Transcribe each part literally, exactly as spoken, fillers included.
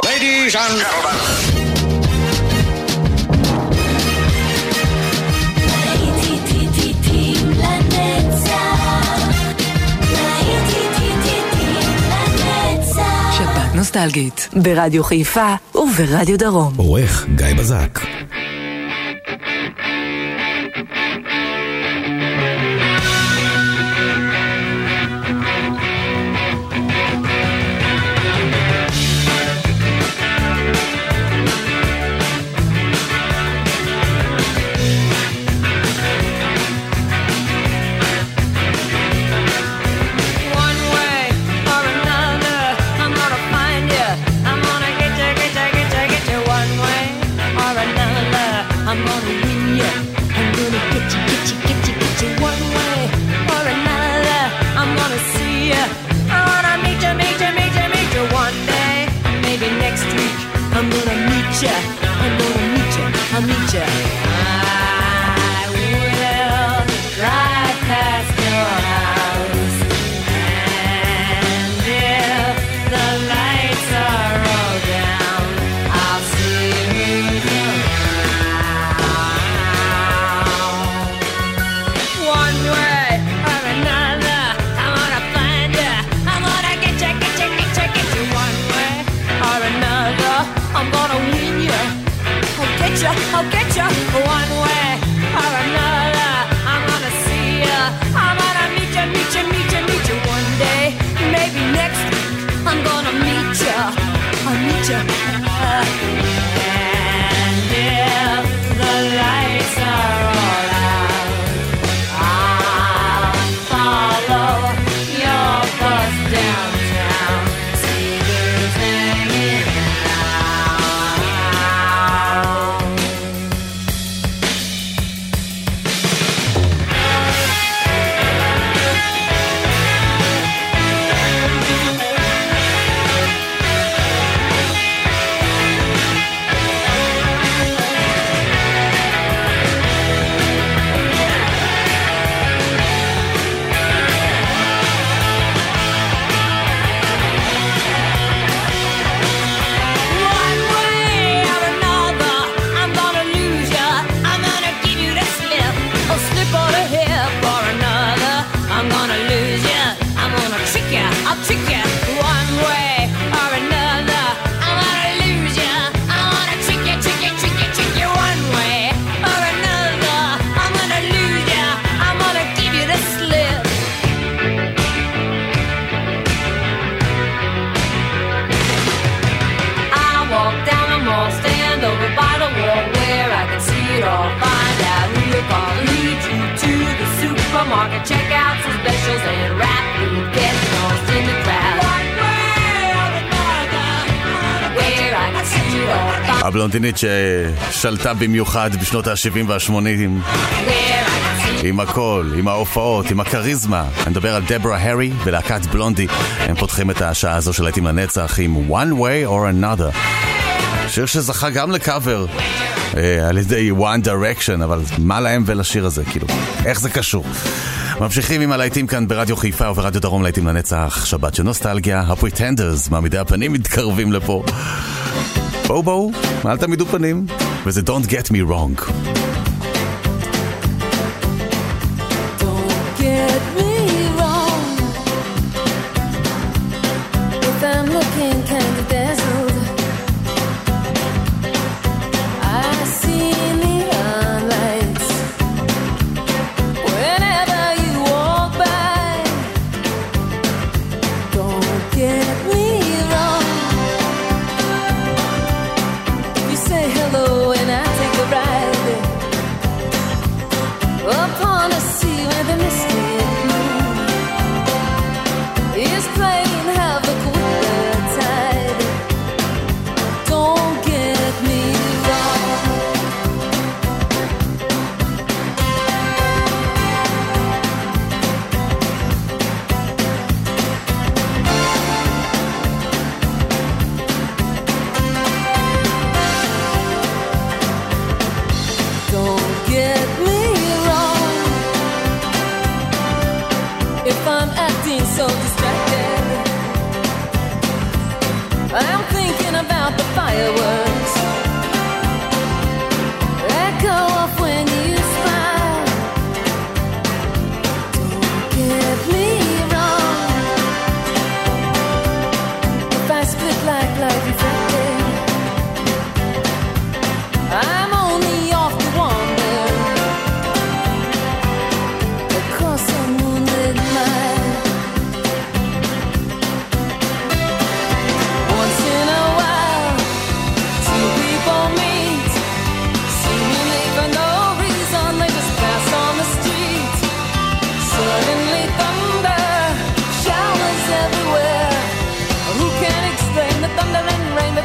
Ladies and gentlemen. שבת נוסטלגית ברדיו חיפה וברדיו דרום. עורך גיא בזק. I'll get you one way or another. I'm gonna see you. I'm gonna meet you, meet you, meet you, meet you one day. Maybe next week I'm gonna meet you. I'll meet you. And if the lights are all out, I'll follow your bus downtown. See who's hanging market, check out some specials and rap food, get lost in the crowd. One way or another, where I can see it all. הבלונדינית ששלטה במיוחד בשנות ה-שבעים וה-שמונים עם הכל, עם ההופעות, עם הקריזמה. אני מדבר על דברה הרי ולהקת בלונדי. הם פותחים את השעה הזו של להיטים לנצח עם One Way or Another, שיר שזכה גם לקאבר על ידי One Direction, אבל מה להם ולשיר הזה, כאילו, איך זה קשור? ממשיכים עם הלהיטים כאן ברדיו חיפה וברדיו דרום, להיטים לנצח, שבת של נוסטלגיה. הפריטנדרס, מעמידי הפנים, מתקרבים לפה. בואו בואו, אל תעמידו פנים. וזה Don't Get Me Wrong. Don't get me wrong, if I'm looking kind of dazzled. Say hello and I take a ride. about the fireworks echo off when you smile. Don't get me wrong, if I split like life reflected, I'm only off to wander across a moonlit mile. Once in a while, two people meet, seemingly for no reason. They just pass on the street. Suddenly thunder, showers everywhere. Who can explain the thunder and rain?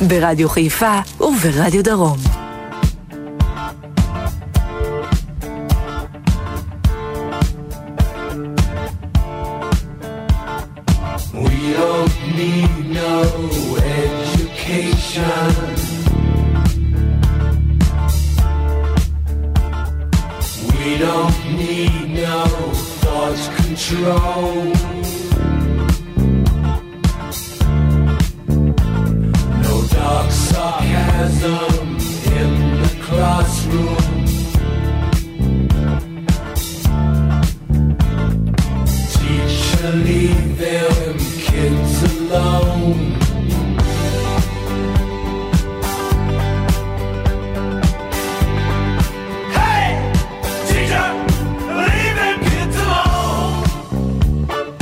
ברדיו חיפה וברדיו דרום. We don't need no education. We don't need no thought control. No dark sarcasm in the classroom. Teacher, leave them kids alone. Hey, teacher, leave them kids alone.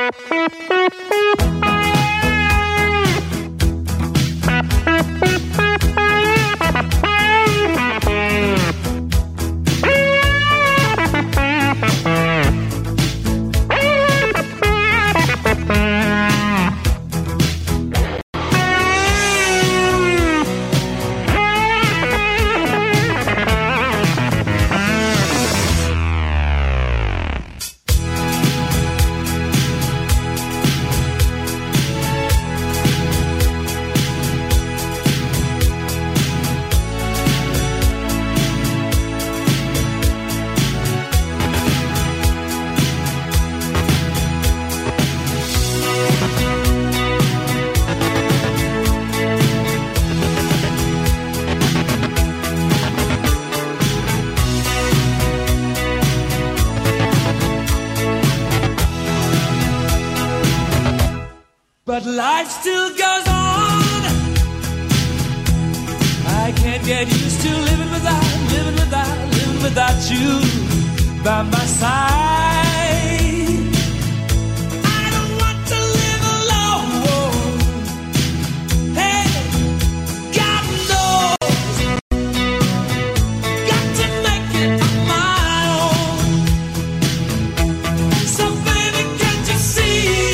But life still goes on. I can't get used to living without, living without, living without you by my side. I don't want to live alone. Hey, God knows, got to make it on my own. So baby, can't you see?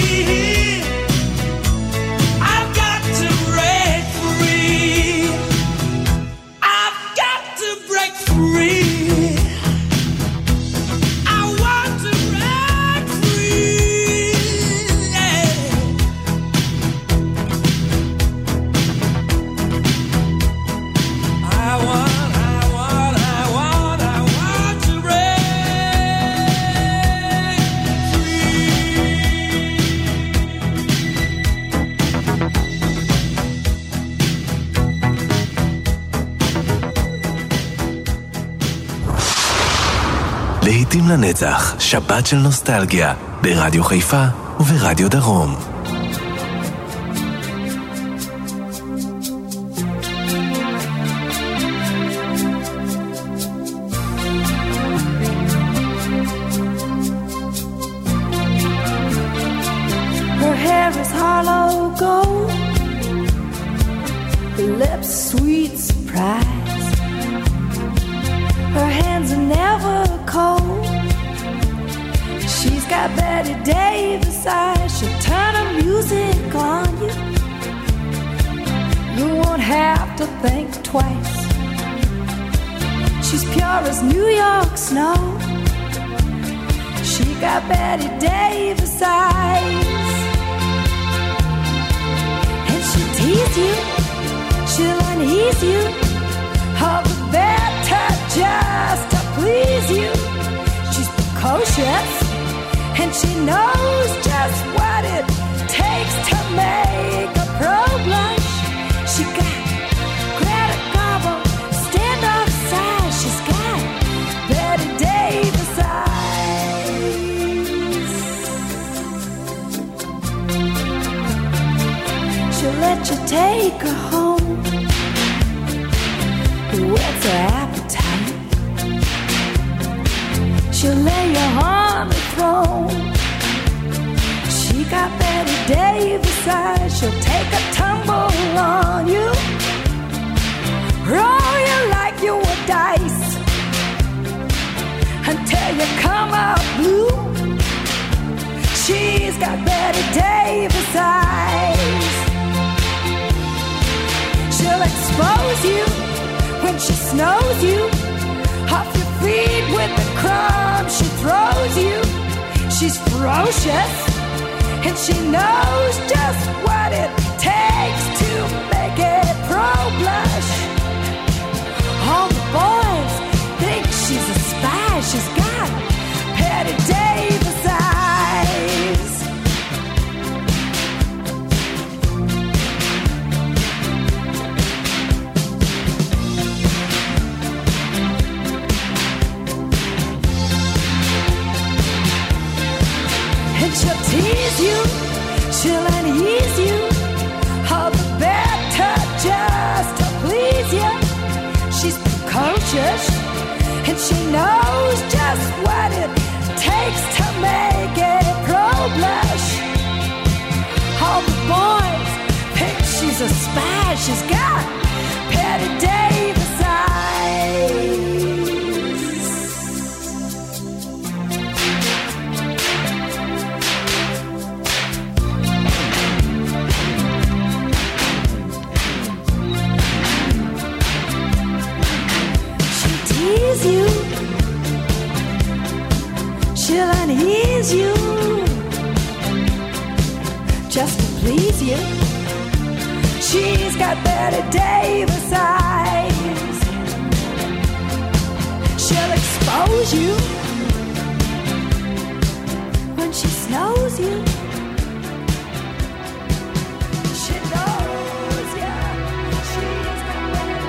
להיטים לנצח, שבת של נוסטלגיה, ברדיו חיפה וברדיו דרום. Her hair is hollow gold, her lips sweet surprise. Her hands are never cold. She's got Betty Davis eyes. She'll turn her music on you. You won't have to think twice. She's pure as New York snow. She got Betty Davis eyes. And she'll tease you, she'll unease you, all the better just to please you. She's precocious, and she knows just what it takes to make a pro blush. She got Greta Garbo, stand-off size. She's got Betty Davis eyes. She'll let you take her home. What's her appetite? She'll lay you on the throne. She got Betty Davis eyes. She'll take a tumble on you, roll you like you were dice, until you come out blue. She's got Betty Davis eyes. She'll expose you when she snows you, off your feet with the crumbs she throws you. She's ferocious, and she knows just what it takes to make it pro blush. All the boys think she's a spy. She's got Betty Davis eyes. She'll tease you, she'll unease you, all the better just to please you. She's precocious, and she knows just what it takes to make it pro blush. a spy. She's got Betty Davis eyes. She'll tease you, she'll unease you, just to please you. She's got Betty Davis eyes. She'll expose you when she snows you. She knows ya. She's got Betty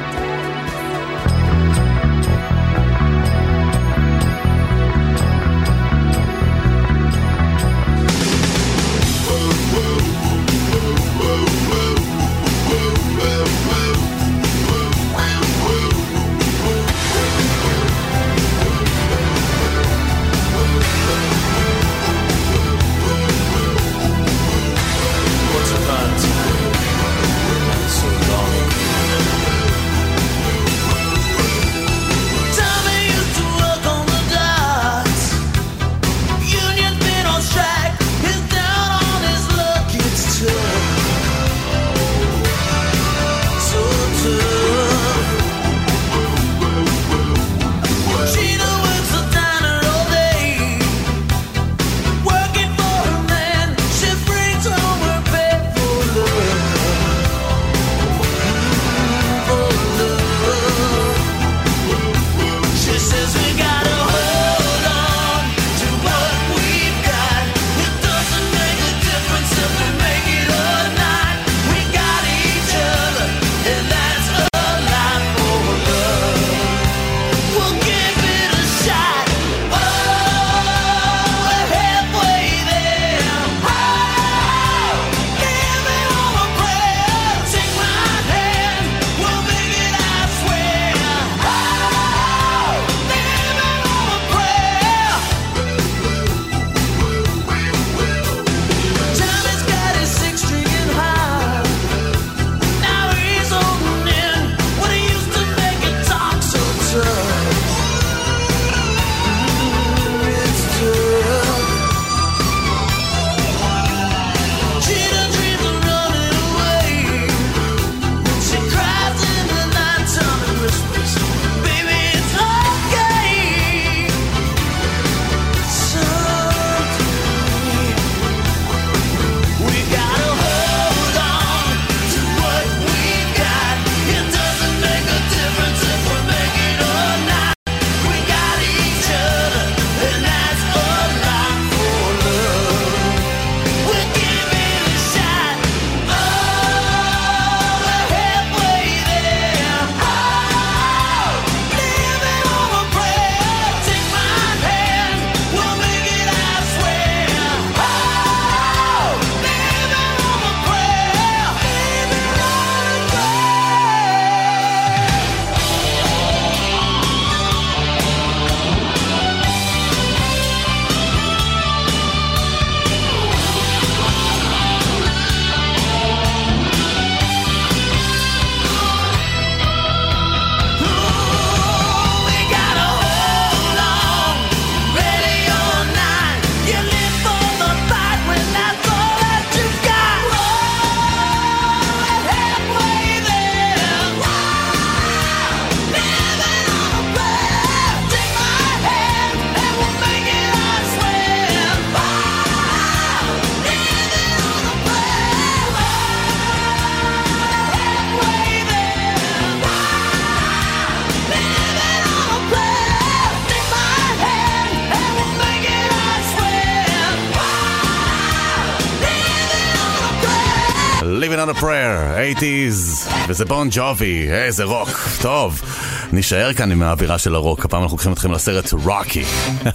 Living on a Prayer, eighties, וזה בון ג'ובי, איזה רוק, טוב, נשאר כאן עם האווירה של הרוק, הפעם אנחנו לוקחים אתכם לסרט רוקי,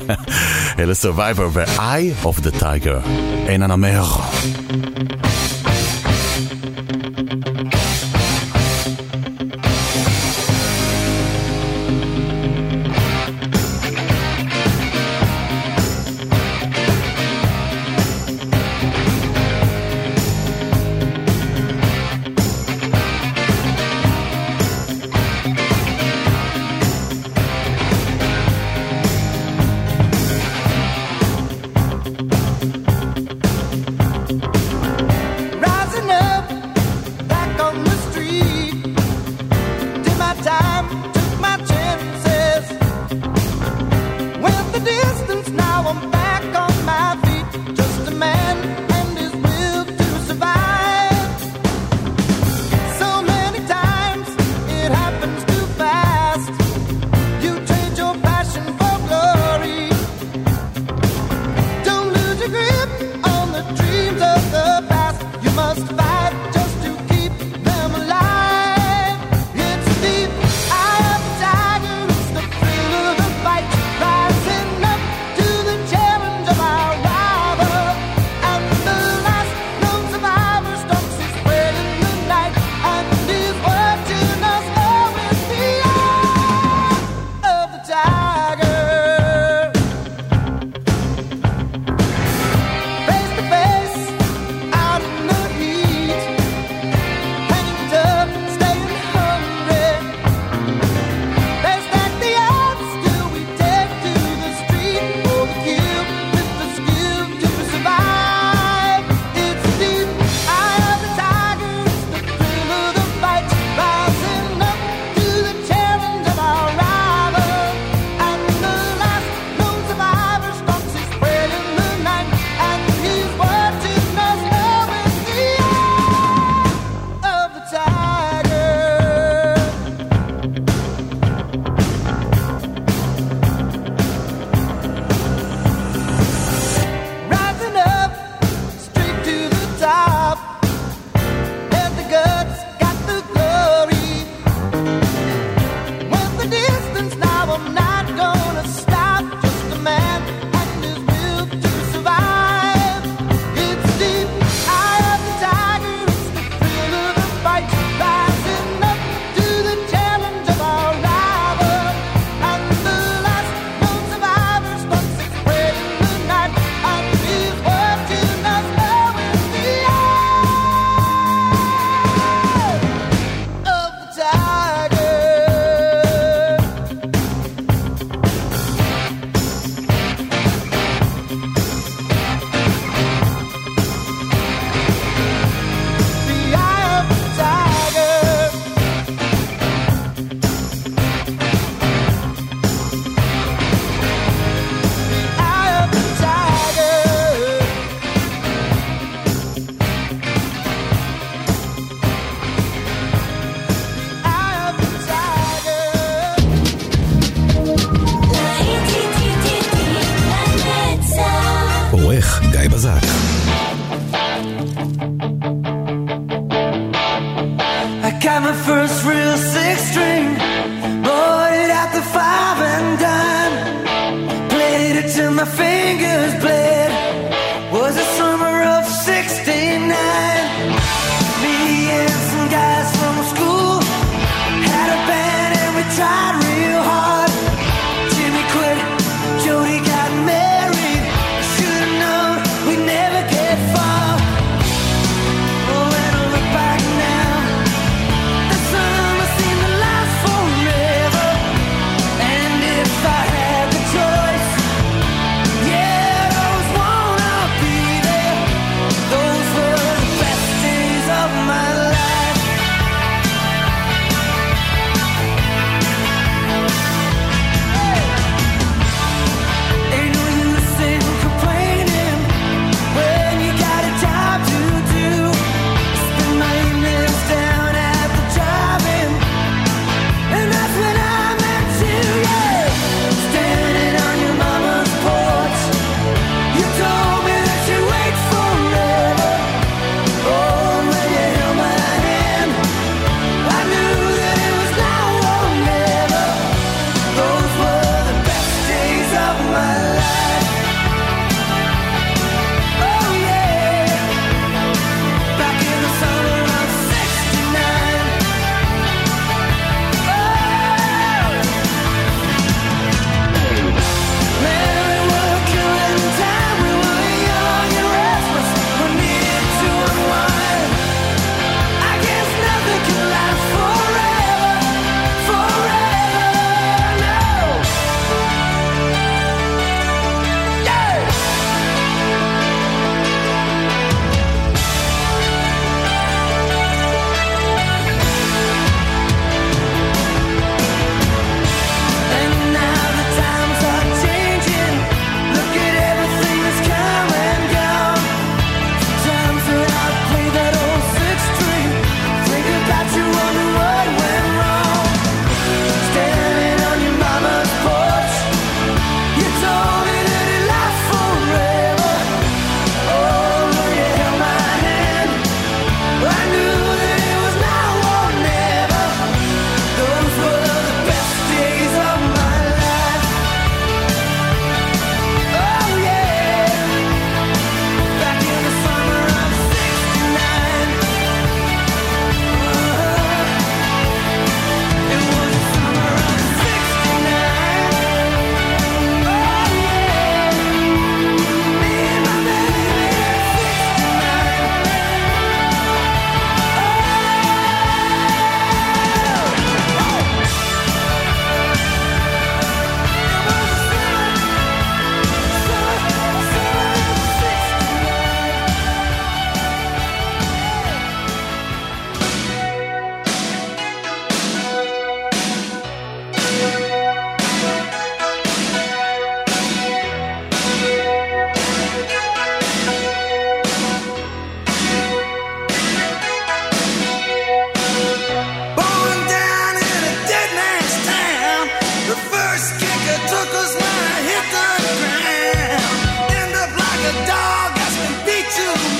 אלה Survivor ו-Eye of the Tiger, אין הנמר. Rising up to the challenge of our rival, and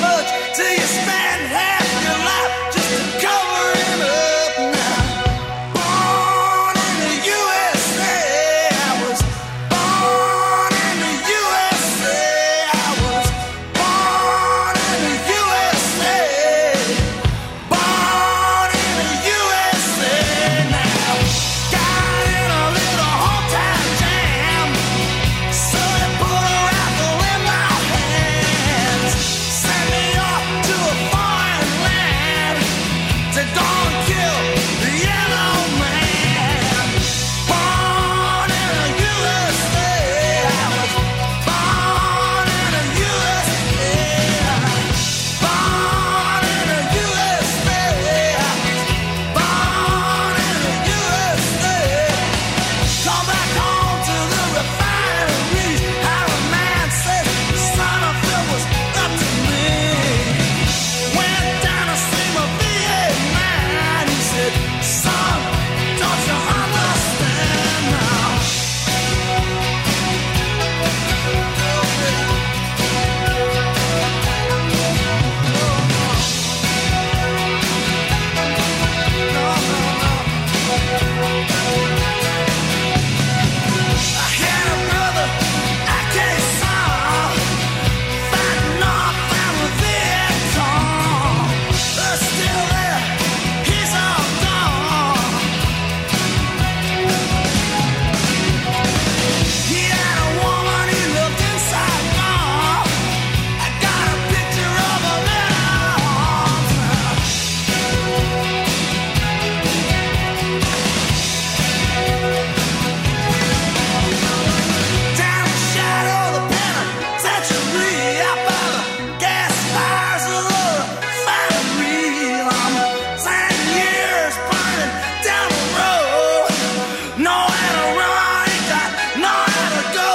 much till you spend half your life just to cover it up now. Born in the U S A, I was born in the U S A, I was born in the U S A, born in the U S A now. Got in a little hometown jam, so they put a rifle in my hands, sent me off to a foreign land to go and kill the yellow man. Born in the U S A, I was born in the U S A, born in the U S A, I was born in the U S A. Come back home to the refineries, how a man said the son of Phil was up to me. Went down to see my V eight man, he said, son, don't you understand now? I had a brother, I can't solve, fighting off our Vietcong. They're still there, he's all gone. He had a woman he looked inside gone. I got a picture of him in our arms now. Down the shadow of the penitentiary, out by the gas fires of the refinery, I'm ten years burning down the road, nowhere to run, ain't got nowhere to go.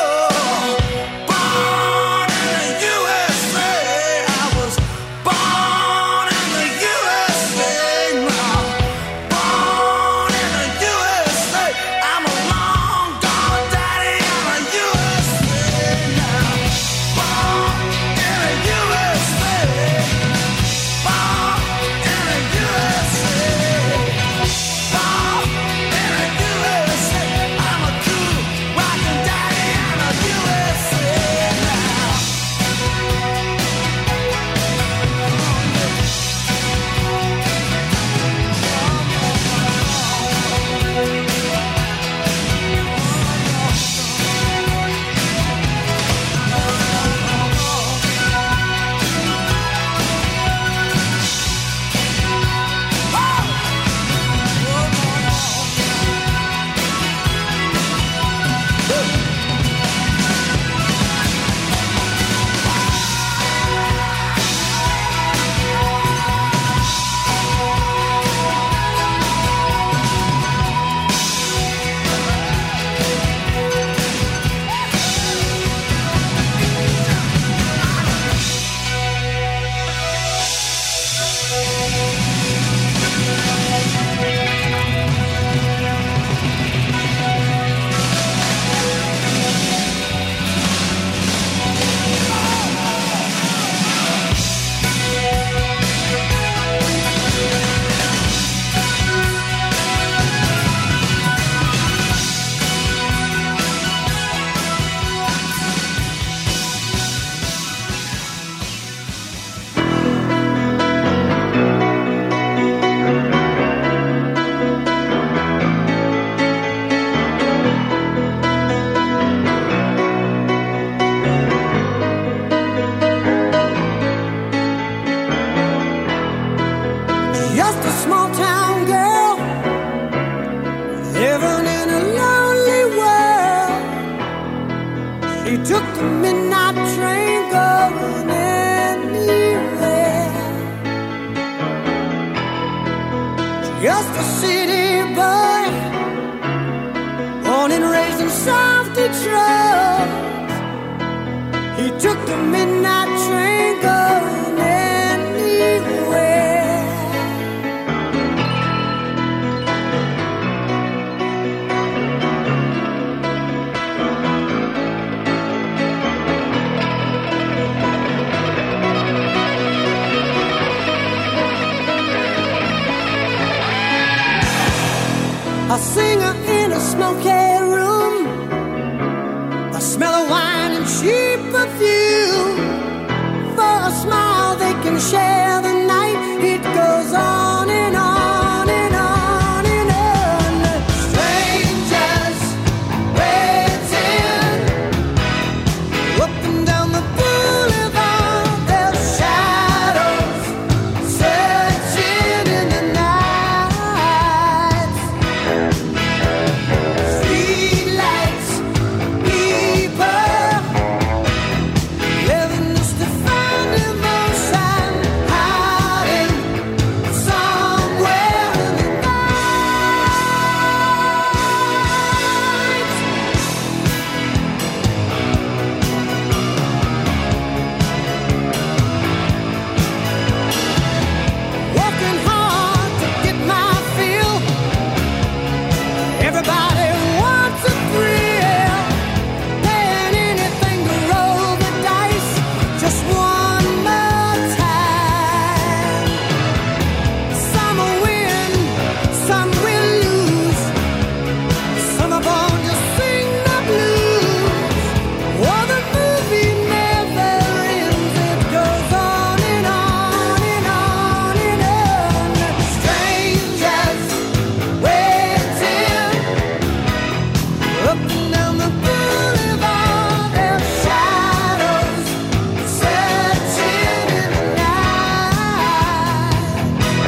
Born in the U S A, I was born in the U S A now. Born in the U S A, I'm a long gone daddy in the U S A now. Born in the U S A, born in the U S A, born in the U S A, I'm a cool rockin' daddy in the U S A now. Just a small town girl living in a lonely world. She took the midnight train going anywhere. Just a city boy, born and raised in South Detroit. He took the midnight train going anywhere. smoky room, the smell of wine and cheap perfume. For a smile they can share the night. It goes on and on and on and on. Strangers waiting up and down the boulevard, their shadows searching in the night. Street lights, people living just to find emotion, hiding somewhere in the night. Working hard to get my fill. Everybody wants a thrill. Paying anything to roll the dice just one more time. Some will win, some will lose. Some are born to sing the blues. Oh, the movie never ends. It goes on and on and on and on. Strangers waiting up and down the boulevard, their shadows searching in the night.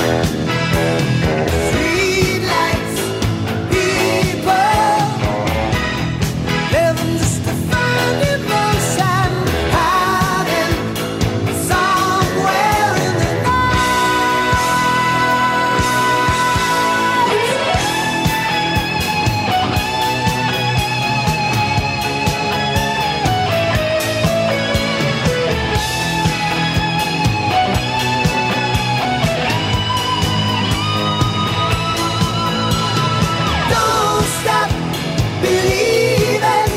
Street lights, people living just to find emotion, hiding somewhere in the Don't stop believing.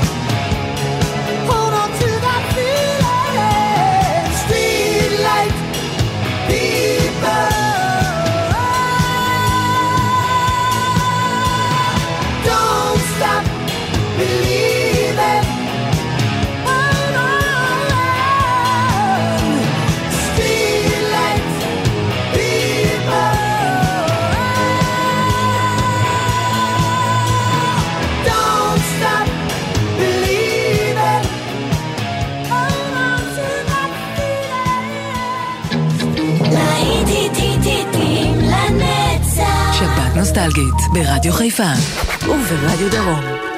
Hold on to that feeling. Street light people. Don't stop believing. Hold on. Street light people. Don't stop believing. Hold on to that feeling. להיטים לנצח. שבת נוסטלגית ברדיו חיפה וברדיו דרום.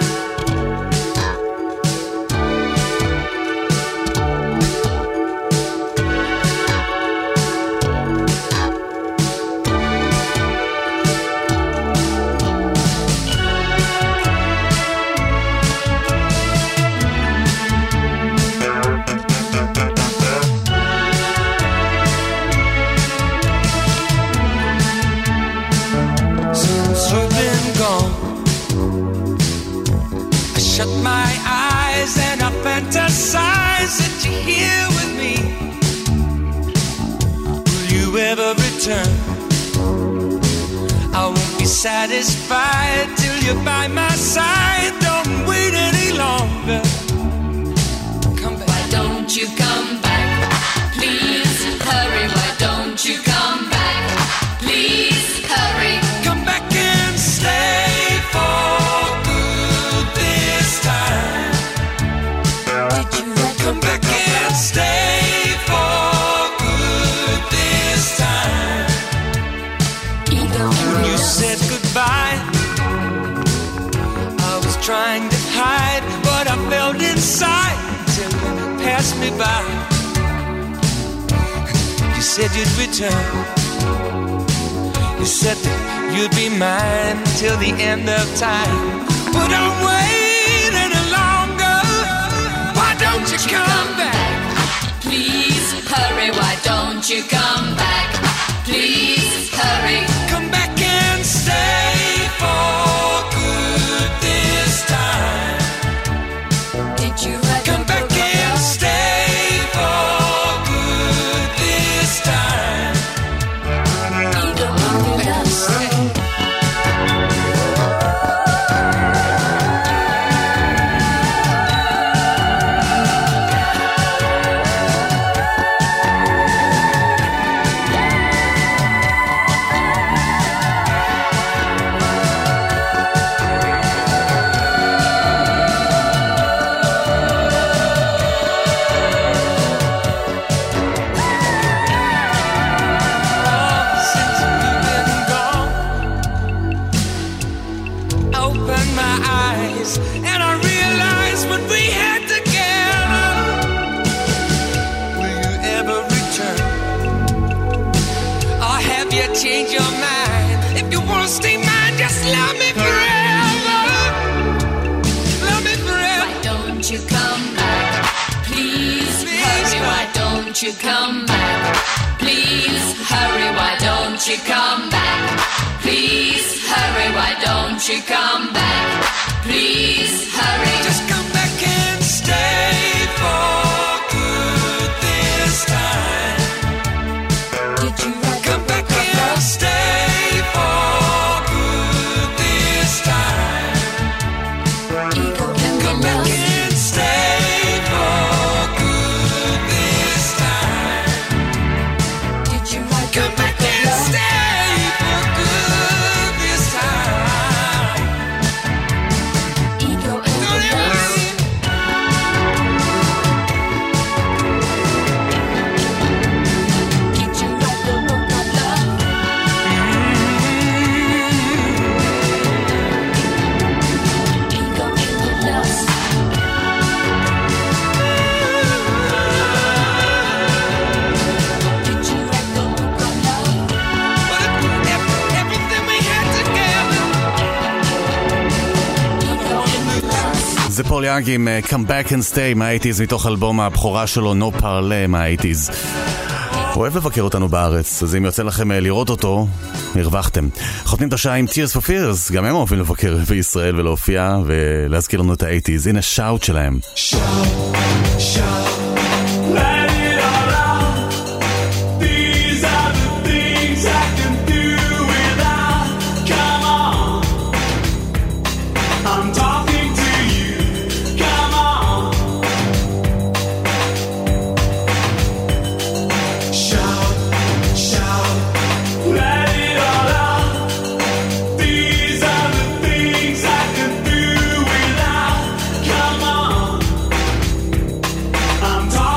Since you've been gone, I shut my eyes and I fantasize that you're here with me. Will you ever return? I won't be satisfied till you're by my side. Don't wait any longer. Come back. Why don't you come back? Please hurry. Why don't you come back? Please hurry. Come back and stay for good this time. Did you ever Come back and stay for good this time. Ego When you said goodbye, I was trying to hide what I felt inside till you passed me by. You said you'd return. You said that you'd be mine till the end of time. But don't wait any longer. Why don't you come back? Please hurry. Why don't you come back? Please hurry. Come back and stay for good this time. Did you ever Come back and stay for good this time. Ego change your mind. If you wanna stay mine, just love me forever. Love me forever. Why don't you come back? Please, please hurry, why don't you come back? Please hurry, why don't you come back? Please hurry, why don't you come back? Please hurry. Just come back and stay for good this time. Did you write Come back and stay for good this time. Ego and Come back love? and stay for good this time. Did you write Come back and stay for good this time. Ego and Don't ever love? leave. Did you write the book of love? Ego and love? Did you write the book of love? But if everything we had together. Ego and love? זה פול יאנג עם uh, Come Back and Stay מהאייטיז מתוך אלבום הבכורה שלו No Parle מהאייטיז. הוא אוהב לבקר אותנו בארץ, אז אם יוצא לכם uh, לראות אותו, הרווחתם. חותמים את השעה עם Tears for Fears, גם הם אוהבים לבקר בישראל ולהופיע ולהזכיר לנו את האייטיז. הנה שאוט שלהם. Let it all out. These are the things I can do without. Come on, I'm talking to you. Come on, shout, shout. Let it all out. These are the things I can do without. Come on, I'm talking.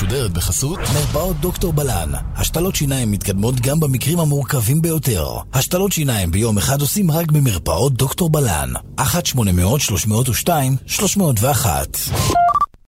משודרת בחסות מרפאות דוקטור בלן. השתלות שיניים מתקדמות גם במקרים המורכבים ביותר. השתלות שיניים ביום אחד עושים רק במרפאות דוקטור בלן. אחת שמונה מאות שלוש מאות ושתיים שלוש מאות ואחת.